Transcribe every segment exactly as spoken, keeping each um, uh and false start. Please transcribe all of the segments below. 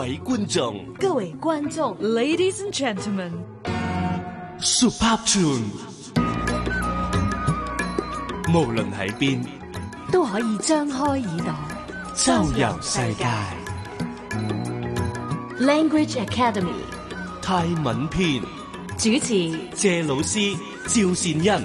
位觀眾， 各位觀眾 ，Ladies and Gentlemen，Super Tune， 無論喺邊都可以張開耳朵， 周遊世界。 Language Academy 泰文篇主持謝老師趙善恩。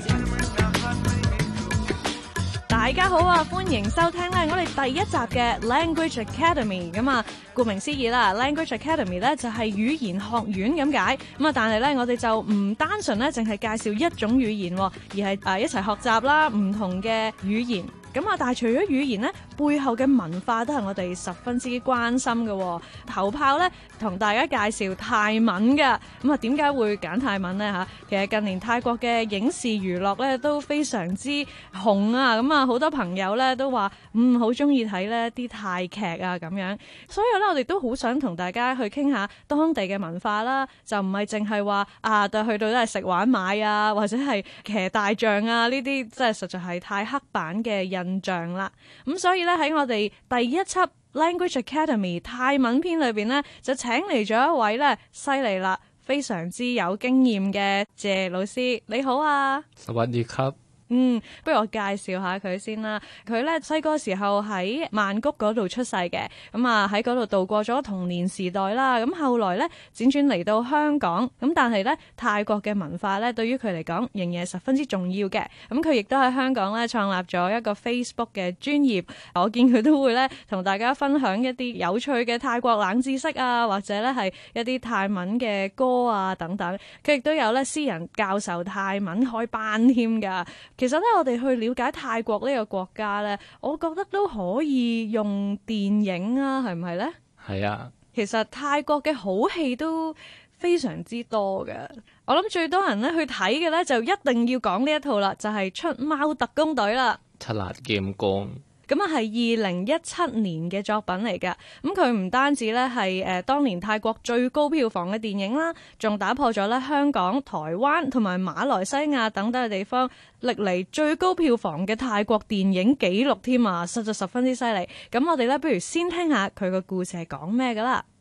大家好啊，歡迎收聽咧我哋第一集嘅 Language Academy。咁啊，顧名思義啦 ，Language Academy 咧就係語言學院咁解。咁啊，但係咧我哋就唔單純咧淨係介紹一種語言，而係誒一齊學習啦唔同嘅語言。咁啊，但係除咗語言咧，背後嘅文化都係我哋十分之關心嘅。頭炮咧同大家介紹泰文嘅。咁啊，點解會揀泰文呢？嚇？其實近年泰國嘅影視娛樂咧都非常之紅啊。咁啊，好多朋友咧都話嗯好中意睇呢啲泰劇啊咁樣。所以咧，我哋都好想同大家去傾下當地嘅文化啦，就唔係淨係話啊，去到都係食玩買啊，或者係騎大象啊呢啲，即係實在係太刻板嘅印象啦。咁所以咧喺我哋第一輯 Language Academy 泰文篇裏邊咧，就請嚟咗一位咧犀利啦，非常之有經驗嘅謝老師。你好啊。 สวัสดีครับ。 嗯，不如我介紹下佢先啦。佢咧細個時候喺曼谷嗰度出世嘅，咁啊喺嗰度度過咗童年時代啦。咁後來咧輾轉嚟到香港，咁但係咧泰國嘅文化咧對於佢嚟講仍然係十分之重要嘅。咁佢亦都喺香港咧創立咗一個 Facebook 嘅專頁，我見佢都會咧同大家分享一啲有趣嘅泰國冷知識啊，或者咧係一啲泰文嘅歌啊等等。佢亦都有咧私人教授泰文開班添㗎。其實咧，我哋去了解泰國呢個國家咧，我覺得都可以用電影啊，係唔係咧？ 係啊。 其實泰國嘅好戲都非常之多嘅。我諗最多人咧去睇嘅咧，就一定要講呢一套啦，就係《出貓特工隊》啦。 ฉลาดเกมโกง。 咁啊，係二零一七年嘅作品嚟㗎。咁佢唔單止咧係誒當年泰國最高票房嘅電影啦，仲打破咗咧香港、台灣同埋馬來西亞等等嘅地方歷嚟最高票房嘅泰國電影紀錄添啊！實在十分之犀利。咁我哋咧不如先聽下佢個故事係講咩㗎啦。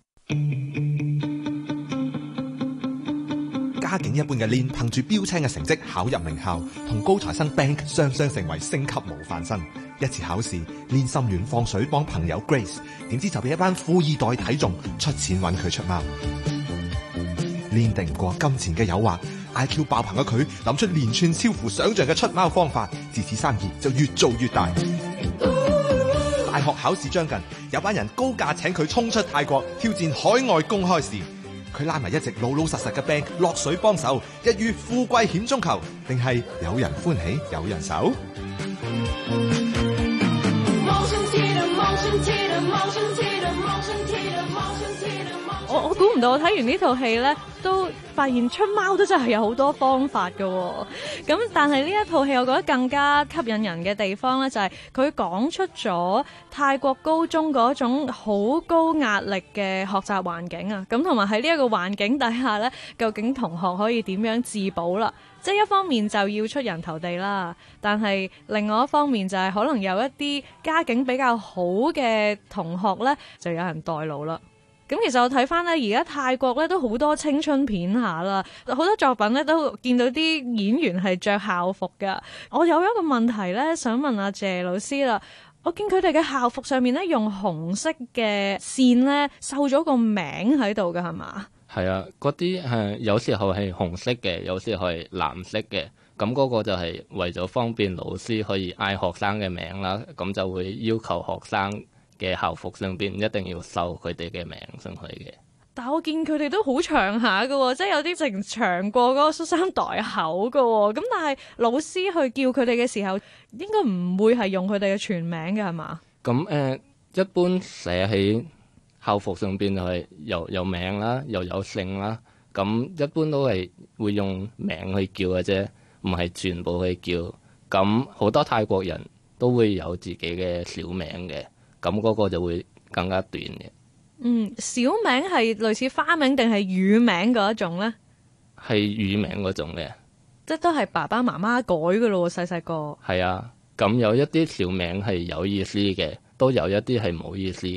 家境一般嘅 Lin 憑住標青嘅成績考入名校，同高材生 Bank 雙雙成為星級模範生。一次考試 Lin 心軟放水幫朋友 Grace， 點知就俾一班富二代睇中，出錢揾佢出貓。Lin 敵唔過金錢嘅誘惑， I Q 爆棚嘅佢諗出連串超乎想象嘅出貓方法，自此生意就越做越大。大學考試將近，有班人高價請佢衝出泰國挑戰海外公開試。佢拉埋一直老老實實嘅 Bank 落水幫手，一於富貴險中求，定係有人歡喜有人愁？ 我我估唔到，我睇完呢套戲咧，都發現出貓都真係有好多方法㗎喎。咁但係呢一套戲，我覺得更加吸引人嘅地方咧，就係佢講出咗泰國高中嗰種好高壓力嘅學習環境啊。咁同埋喺呢一個環境底下咧，究竟同學可以點樣自保啦？即係一方面就要出人頭地啦，但係另外一方面就係可能有一啲家境比較好嘅同學咧，就有人代勞啦。咁其實我睇翻咧，而家泰國咧都好多青春片下啦，好多作品咧都見到啲演員係着校服噶。我有一個問題咧，想問阿謝老師啦。我見佢哋嘅校服上面咧用紅色嘅線咧繡咗個名喺度噶，係嘛？ 係啊，嗰啲係有時候係紅色嘅，有時候係藍色嘅。咁嗰個就係為咗方便老師可以嗌學生嘅名啦，咁就會要求學生嘅校服上邊一定要繡佢哋嘅名上去嘅。 但係我見佢哋都好長下㗎，即係有啲成長過嗰個恤衫袋口㗎。咁但係老師去叫佢哋嘅時候，應該唔會係用佢哋嘅全名嘅，係嘛？ 咁誒、呃，一般寫喺校服上邊就係有有名啦，又有姓啦。咁一般都係會用名去叫嘅啫，唔係全部去叫。咁好多泰國人都會有自己嘅小名嘅。咁嗰個就會更加短嘅。嗯， 小名係類似花名定係乳名嗰一種咧？ 係乳名嗰種嘅， 即係都係爸爸媽媽改嘅咯，細細個。 係啊，咁有一啲小名係有意思嘅，都有一啲係冇意思嘅。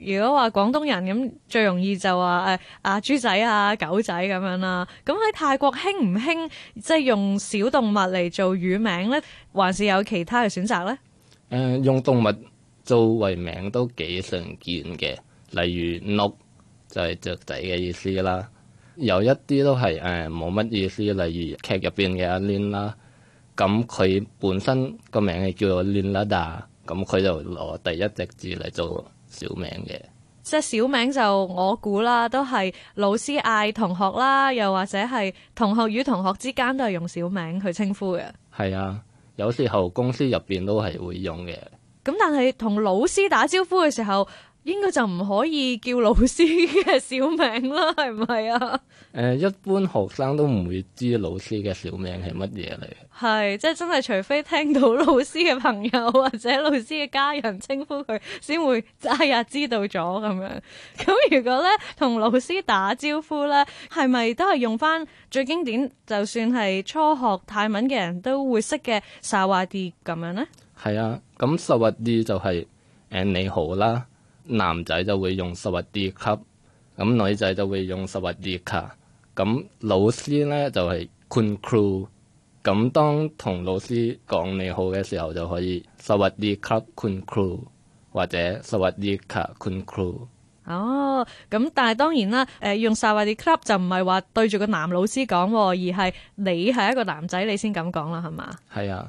如果話廣東人咁，最容易就話誒阿豬仔啊、狗仔咁樣啦。咁喺泰國興唔興即係用小動物嚟做乳名咧，還是有其他嘅選擇咧？誒、 呃，用動物做為名都幾常見嘅，例如鹿就係雀仔嘅意思啦。有一啲都係誒冇乜意思，例如劇入邊嘅阿 Lin 啦，咁佢本身個名係叫做 Linlada，咁佢就攞第一隻字嚟做小名嘅。 即係小名就我估啦，都係老師嗌同學啦，又或者係同學與同學之間都係用小名去稱呼嘅。係啊，有時候公司入邊都係會用嘅。 咁但係同老師打招呼嘅時候，應該就唔可以叫老師嘅小名啦，係唔係啊？誒、 呃，一般學生都唔會知老師嘅小名係乜嘢嚟。 係，即係真係除非聽到老師嘅朋友或者老師嘅家人稱呼佢，先會哎呀知道咗咁樣。咁如果咧同老師打招呼咧，係咪都係用翻最經典，就算係初學泰文嘅人都會識嘅薩瓦迪咁樣咧？ 係啊，咁薩瓦迪就係、是、誒、呃、你好啦。男仔就會用薩瓦迪卡，咁女仔就會用薩瓦迪卡。咁老師咧就係 Kun Kru，咁當同老師講你好嘅時候就可以薩瓦迪卡 Kun Kru 或者薩瓦迪卡 Kun Kru。 哦，咁但係當然啦，誒、呃、用薩瓦迪卡就唔係話對住個男老師講，而係你係一個男仔你先咁講啦，係嘛？ 係啊。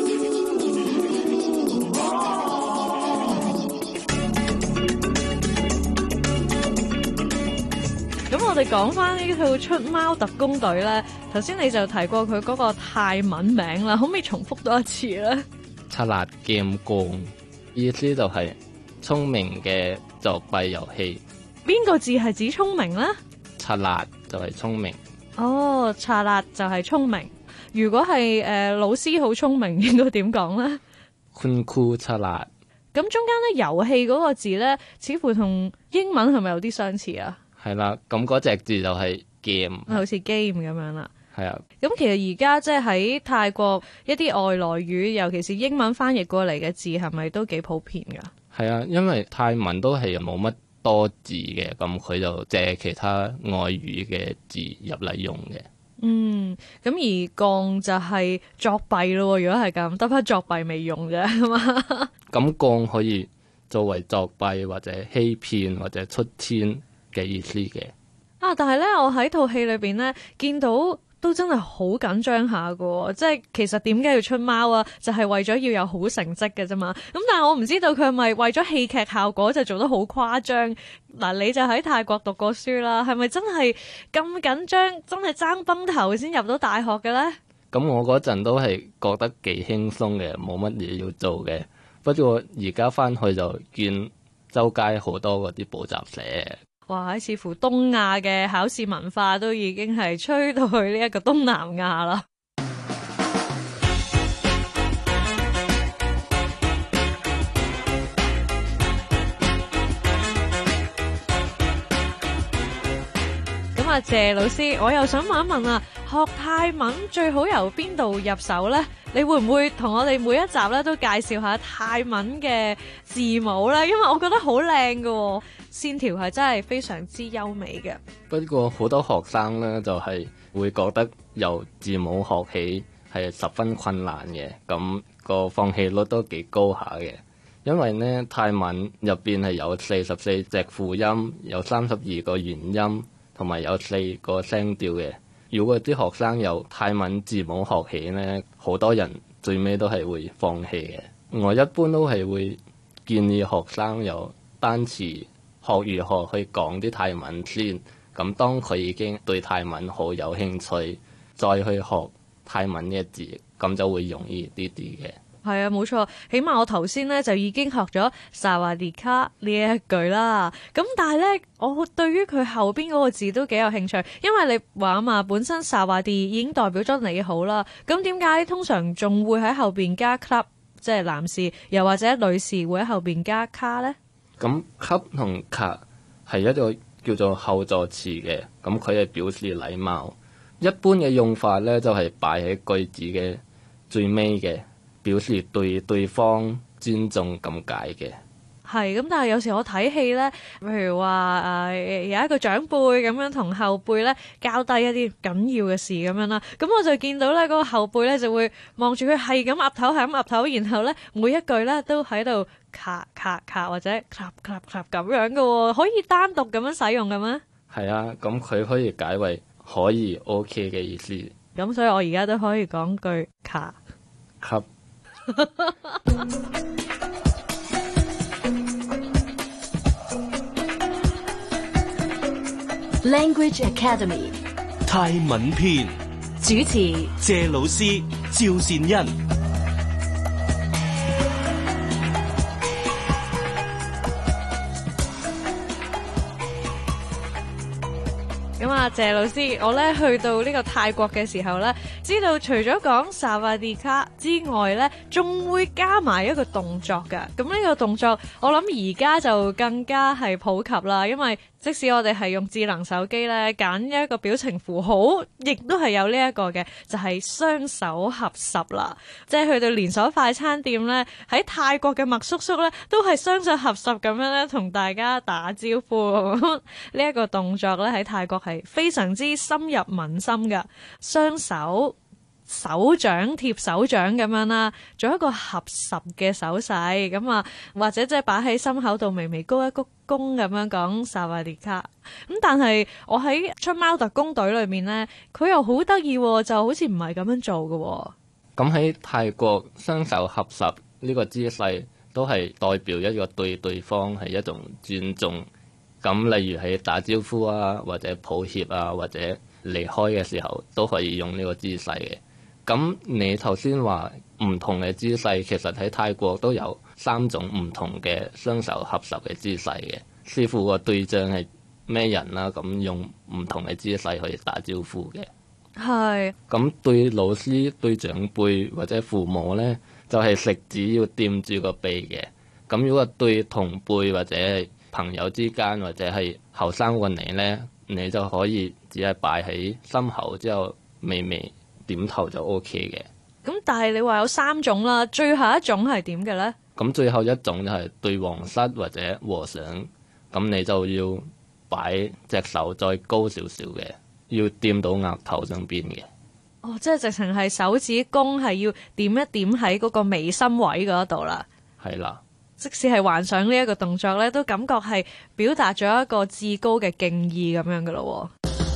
咁我哋講翻呢套出貓特工隊咧，頭先你就提過佢嗰個泰文名啦，可唔可以重複多一次咧？ 查辣劍光，意思就係聰明嘅作弊遊戲。 邊個字係指聰明咧？ 查辣就係聰明。 哦，查辣就係聰明。如果係誒、呃、老師好聰明，應該點講咧？ 坤酷查辣。咁中間咧遊戲嗰個字咧，似乎同英文係咪有啲相似啊？ 係啦，咁嗰隻字就係 game， 好似 game 咁樣啦。 係啊， 咁其實而家即係喺泰國一啲外來語，尤其是英文翻譯過嚟嘅字，係咪都幾普遍噶？係啊，因為泰文都係冇乜多字嘅，咁佢就借其他外語嘅字入嚟用嘅。嗯，咁而降就係作弊咯。如果係咁，得翻作弊未用啫，係嘛？咁降可以作為作弊或者欺騙或者出千嘅意思嘅。啊！但係咧，我喺套戲裏邊咧見到都真係好緊張下噶，即係其實點解要出貓啊？就係、是、為咗要有好成績嘅啫嘛。咁但係我唔知道佢係咪為咗戲劇效果就做得好誇張。嗱，你就喺泰國讀過書啦，係咪真係咁緊張？真係爭崩頭先入到大學嘅咧？咁我嗰陣都係覺得幾輕鬆嘅，冇乜嘢要做嘅。不過而家翻去就見周街好多嗰啲補習社。哇！似乎東亞嘅考試文化都已經係吹到去呢一個東南亞啦。咁啊，謝老師，我又想問一問啊，學泰文最好由邊度入手呢？你會唔會同我哋每一集咧都介紹下泰文嘅字母呢？因為我覺得好靚㗎，線條係真係非常之優美嘅。不過好多學生呢，就係會覺得由字母學起係十分困難嘅，咁個放棄率都幾高下嘅。因為呢，泰文入邊係有四十四隻輔音，有三十二個元音，同埋有四個聲調嘅。如果啲學生由泰文字母學起呢，好多人最尾都係會放棄嘅。我一般都係會建議學生由單詞學如何去講啲泰文先，咁當佢已經對泰文好有興趣，再去學泰文嘅字，咁就會容易啲啲嘅。係啊，冇錯，起碼我頭先咧就已經學咗薩瓦迪卡呢一句啦。咁但係咧，我對於佢後邊嗰個字都幾有興趣，因為你話啊嘛，本身薩瓦迪已經代表咗你好啦。咁點解通常仲會喺後邊加 club， 即係男士又或者女士會喺後邊加卡咧？咁 club 同卡係一個叫做後助詞嘅，咁佢係表示禮貌。一般嘅用法咧就係擺喺句子嘅最尾嘅。表示對對方尊重咁解嘅。 係咁，但係有時我睇戲咧，譬如話誒、呃、有一個長輩咁樣同後輩咧交低一啲緊要嘅事咁樣啦，咁我就見到咧嗰、嗰個後輩咧就會望住佢係咁岌頭係咁岌頭，然後咧每一句咧都喺度咔咔咔或者咔咔咔咁樣嘅喎，可以單獨咁樣使用嘅咩？ 係啊，咁佢可以解為可以 OK 嘅意思。 咁所以我而家都可以講句咔吸。 Language Academy 泰文篇主持謝老師趙善恩。 咁啊，謝老師，我咧去到呢個泰國嘅時候咧，知道除咗講薩瓦迪卡之外咧，仲會加埋一個動作㗎。咁呢個動作，我諗而家就更加係普及啦，因為即使我哋係用智能手機咧，揀一個表情符號，亦都係有呢一個嘅，就係雙手合十啦。即係去到連鎖快餐店咧，喺泰國嘅麥叔叔咧，都係雙手合十咁樣咧，同大家打招呼。呢一個動作咧喺泰國係非常之深入民心㗎，雙手手掌貼手掌咁樣啦，做一個合十嘅手勢咁啊，或者即係擺喺心口度微微高一鞠躬咁樣講薩瓦迪卡。咁但係我喺出貓特工隊裏面呢，佢又好得意，就好似唔係咁樣做嘅。 咁喺泰國雙手合十呢個姿勢都係代表一個對對方係一種尊重。咁例如喺打招呼啊，或者抱歉啊，或者離開嘅時候都可以用呢個姿勢嘅。咁你頭先話唔同嘅姿勢，其實喺泰國都有三種唔同嘅雙手合十嘅姿勢嘅，視乎個對象係咩人啦，咁用唔同嘅姿勢去打招呼嘅。 係。 咁對老師、對長輩或者父母呢，就係食指要掂住個鼻嘅。咁如果對同輩或者係朋友之間或者係後生過你呢，你就可以只係擺喺心口之後微微點頭就 O K 嘅。 咁但係你話有三種啦，最後一種係點嘅呢？ 咁最後一種就係對皇室或者和尚，咁你就要擺隻手再高少少嘅，要掂到額頭上邊嘅。 哦，即係直情係手指公係要點一點喺嗰個眉心位嗰度啦。 係啦。 即使係幻想呢一個動作咧，都感覺係表達咗一個至高嘅敬意咁樣嘅咯。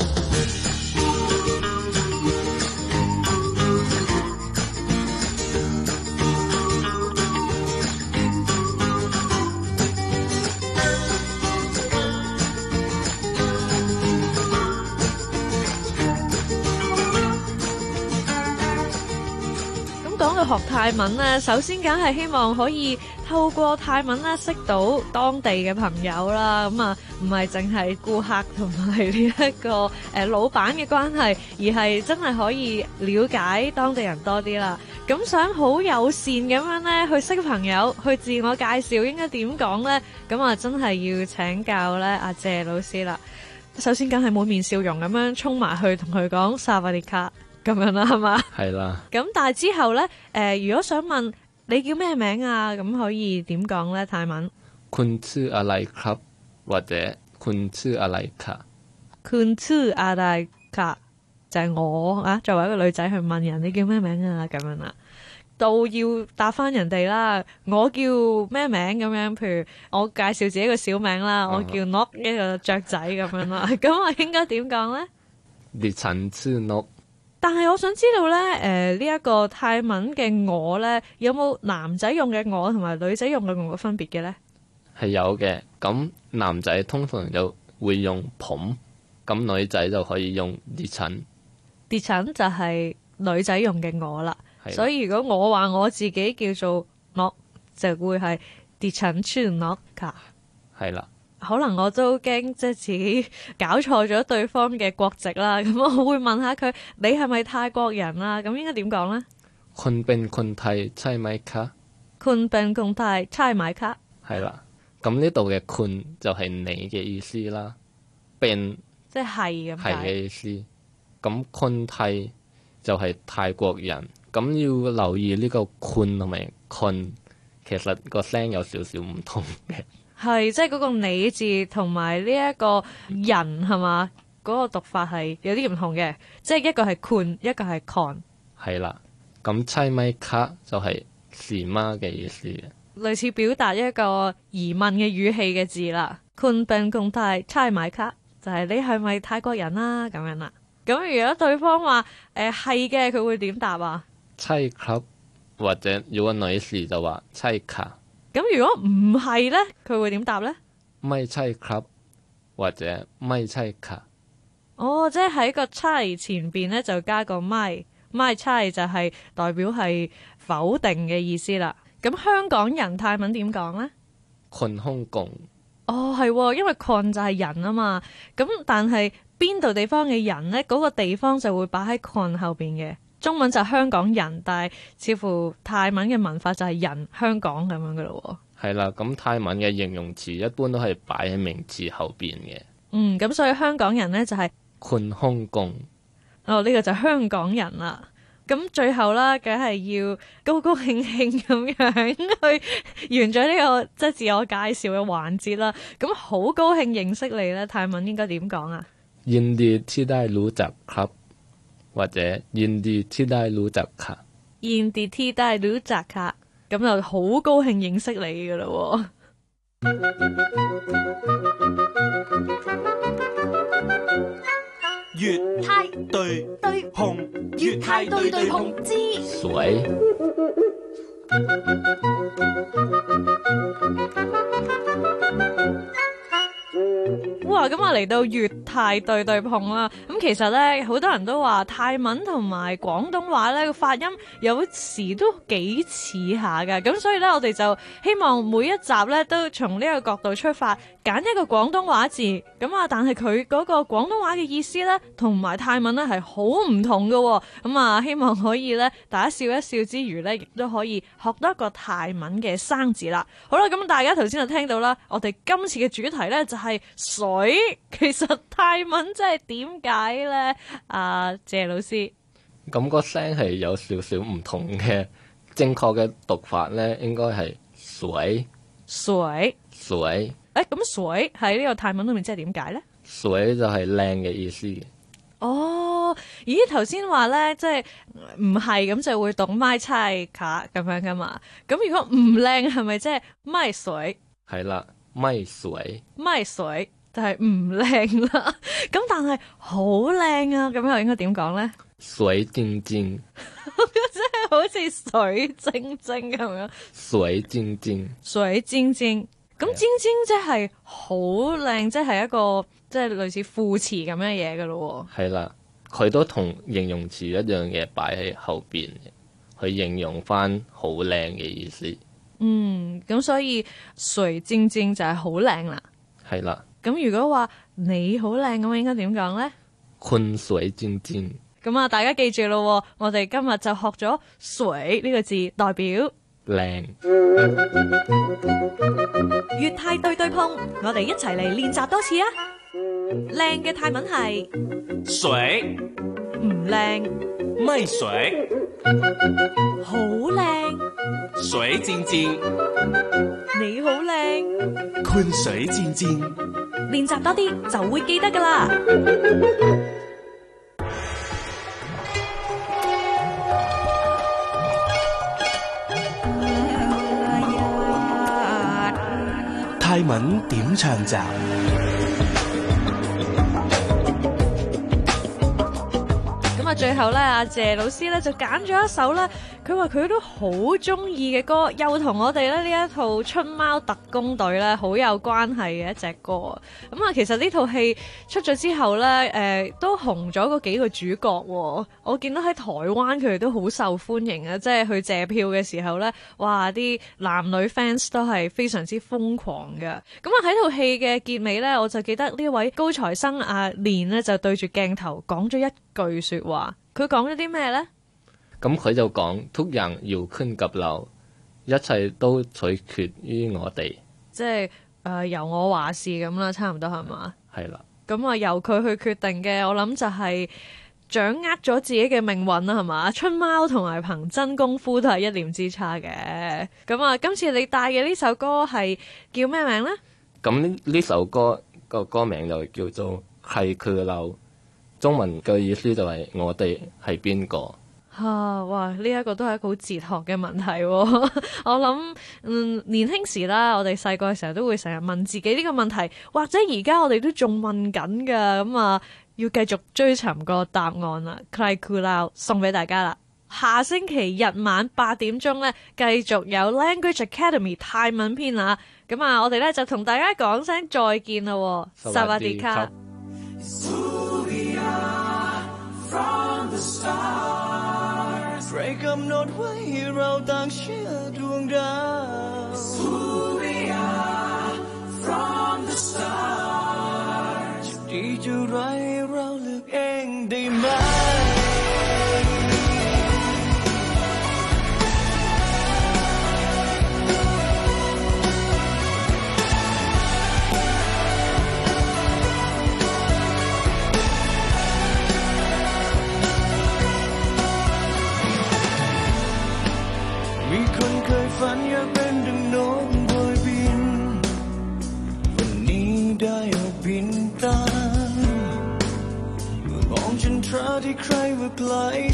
講到學泰文咧，首先梗係希望可以透過泰文咧識到當地嘅朋友啦。咁啊，唔係淨係顧客同埋呢一個誒、呃、老闆嘅關係，而係真係可以了解當地人多啲啦。咁想好友善咁樣咧去識朋友，去自我介紹，應該點講咧？咁啊，真係要請教咧阿謝老師啦。首先梗係滿面笑容咁樣衝埋去同佢講薩瓦迪卡。咁樣啦，係嘛？係啦。 咁但係之後咧，誒、呃，如果想問你叫咩名啊，咁可以點講咧？泰文คุณชื่ออะไรครับ或者คุณชื่ออะไรคะคุณชื่ออะไรคะ就係、是、我啊，作為一個女仔去問人你叫咩名啊，咁樣啦，都要答翻人哋啦。我叫咩名咁樣？譬如我介紹自己個小名啦，我叫 Nok 一個雀仔咁樣啦。咁我應該點講咧？ ดิฉันชื่อนก。 但係我想知道咧，誒呢一個泰文嘅我咧，有冇男仔用嘅我同埋女仔用嘅我嘅分別嘅咧？ 係有嘅，咁男仔通常就會用ผม，咁女仔就可以用ดิฉัน。 ดิฉัน就係女仔用嘅我啦，所以如果我話我自己叫做 Nok， 就會係ดิฉันชื่อ Nok ค่ะ。係啦。可能我都驚即係自己搞錯咗對方嘅國籍啦，咁我會問下佢：你係咪泰國人啊？咁應該點講呢？ คุณเป็นคนไทยใช่ไหมคะคุณเป็นคนไทยใช่ไหมคะ係啦，咁呢度嘅คุณ就係你嘅意思啦，เป็น即係係咁係嘅意思。咁คนไทย就係泰國人，咁要留意呢個คุณ同埋คน其實個聲有少少唔同嘅。 係即係嗰個你字同埋呢一個人係嘛？嗰、嗰個讀法係有啲唔同嘅，即係一個係 kun， 一個係 con。 係啦，咁猜咪卡就係是嗎嘅意思嘅， 類似表達一個疑問嘅語氣嘅字啦。kun ben kong tai猜咪卡就係、是、你係咪泰國人啦、啊、咁樣啦。咁如果對方話誒係嘅，佢、呃、會點答啊？ 猜ครับ，或者如果女士就話猜卡。 咁如果唔係咧，佢會點答咧？ 咪猜ครับ，或者咪猜卡。 哦，即係喺個猜前邊咧就加個咪，咪猜就係代表係否定嘅意思啦。咁香港人泰文點講咧？ คนฮ่องกง。 哦，係，因為 con 就係人啊嘛。咁但係邊度地方嘅人咧，嗰、嗰個地方就會擺喺 con 後邊嘅。中文就係香港人，但係似乎泰文嘅文化就係人香港咁樣噶咯。 係啦，咁泰文嘅形容詞一般都係擺喺名詞後邊嘅。 嗯，咁所以香港人咧就係、是、 คนฮ่องกง。 哦，呢、這個就係香港人啦。咁最後啦，梗係要高高興興咁樣去完咗呢、這個即係自我介紹嘅環節啦。咁好高興認識你咧，泰文應該點講啊？ ยินดีที่ได้รู้จักครับ，或者ยินดีที่ได้รู้จักค่ะ。 ยินดีที่ได้รู้จักค่ะ，咁就好高興認識你噶啦。 粵泰對對碰， 粵泰對對碰之水。 哇！咁啊嚟到粵泰對對碰啦，咁其實咧好多人都話泰文同埋廣東話咧個發音有時都幾似下噶，咁所以咧我哋就希望每一集咧都從呢個角度出發，揀一個廣東話字，咁啊但係佢嗰個廣東話嘅意思咧同埋泰文咧係好唔同噶，咁啊希望可以咧大家笑一笑之餘咧，亦都可以學多一個泰文嘅生字啦。好啦，咁大家頭先就聽到啦，我哋今次嘅主題咧就係水。其實泰文即係點解咧？啊，謝老師， 咁個聲係有少少唔同嘅，正確嘅讀法咧應該係水水水。 誒，咁水喺呢個泰文裏面即係點解咧？ 水就係靚嘅意思。 哦，咦，頭先話咧，即係唔係咁就會讀咪猜卡咁樣噶嘛？咁如果唔靚係咪即係咪水？ 係啦，咪水咪水。就係唔靚啦，咁但係好靚啊！咁又應該點講咧？ 水晶晶， 即係好似水晶晶咁樣。 水晶晶， 水晶晶，咁晶晶即係好靚，即係一個即係類似副詞咁樣嘢噶咯。 係啦，佢都同形容詞一樣嘅擺喺後邊嘅，去形容翻好靚嘅意思。 嗯，咁所以水晶晶就係好靚啦。 係啦。 咁如果話你好靚咁，應該點講咧？ 坤水晶晶。 咁啊，大家記住咯，我哋今日就學咗水呢個字，代表靚。 粵泰對對碰，我哋一齊嚟練習多次啊！靚嘅泰文係水， 唔靚咪水， 好靚， 水晶晶， 你好靚， 坤水晶晶。 練習多啲就會記得噶啦。 泰文點唱集。 咁啊，最後咧，阿謝老師咧就揀咗一首咧，佢話佢都好中意嘅歌，又同我哋咧呢一套春貓特工隊咧好有關係嘅一隻歌。咁啊，其實呢套戲出咗之後咧，誒、呃、都紅咗嗰幾個主角。我見到喺台灣佢哋都好受歡迎啊，即係去借票嘅時候咧，哇！啲男女 fans 都係非常之瘋狂嘅。咁啊，喺套戲嘅結尾咧，我就記得呢位高材生阿蓮咧就對住鏡頭講咗一句說話。佢講咗啲咩咧？ 咁佢就講ทุกอย่าง要ขึ้นกับเรา，一切都取決於我哋。 即係誒、呃、由我話事咁啦，差唔多係嘛？ 係啦。 咁啊由佢去決定嘅，我諗就係掌握咗自己嘅命運啦，係嘛？春貓同埋憑真功夫都係一念之差嘅。咁啊，今次你帶嘅呢首歌係叫咩名呢？ 咁呢呢首歌個歌名就叫做係佢漏，中文嘅意思就係我哋係邊個。 啊！哇！呢、這、一個都係一個好哲學嘅問題、哦。我諗，嗯，年輕時啦，我哋細個嘅時候都會成日問自己呢個問題，或者而家我哋都仲問緊噶。咁啊，要繼續追尋個答案啦。Cry Cool Out 送俾大家啦。下星期日晚八點鐘咧，繼續有 Language Academy 泰文篇啊。咁啊，我哋咧就同大家講聲再見啦。薩瓦迪卡。 ใครกำหนดไว้ให้เราต่างเชื่อดวงดาว Who we are from the start จะดีจะร้ายเราเลือกเองได้ไหมฝันอยากเป็นดังนกโบยบินวันนี้ได้ออกบินตามเมื่อมองฉันทราที่ใครว่าไกล